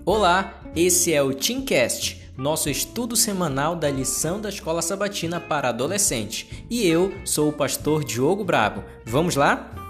Olá, esse é o Teamcast, nosso estudo semanal da lição da Escola Sabatina para adolescentes. E eu sou o pastor Diogo Brabo. Vamos lá?